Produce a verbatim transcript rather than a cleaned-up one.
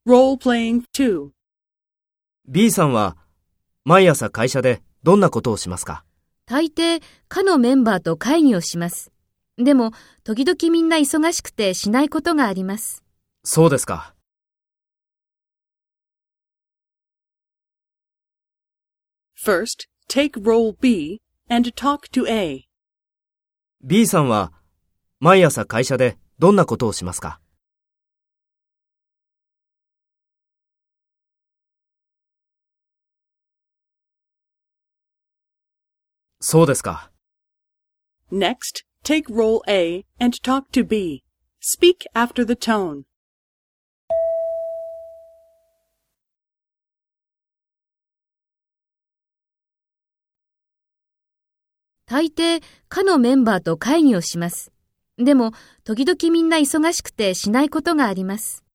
Role-playing two. B さんは毎朝会社でどんなことをしますか？ 大抵、課のメンバーと会議をします。でも、時々みんな忙しくてしないことがあります。 そうですか。 First, take role B and talk to A. B さんは毎朝会社でどんなことをしますか？そうですか。 Next, take role A and talk to B. Speak after the tone. 大抵、課のメンバーと会議をします。でも、時々みんな忙しくてしないことがあります。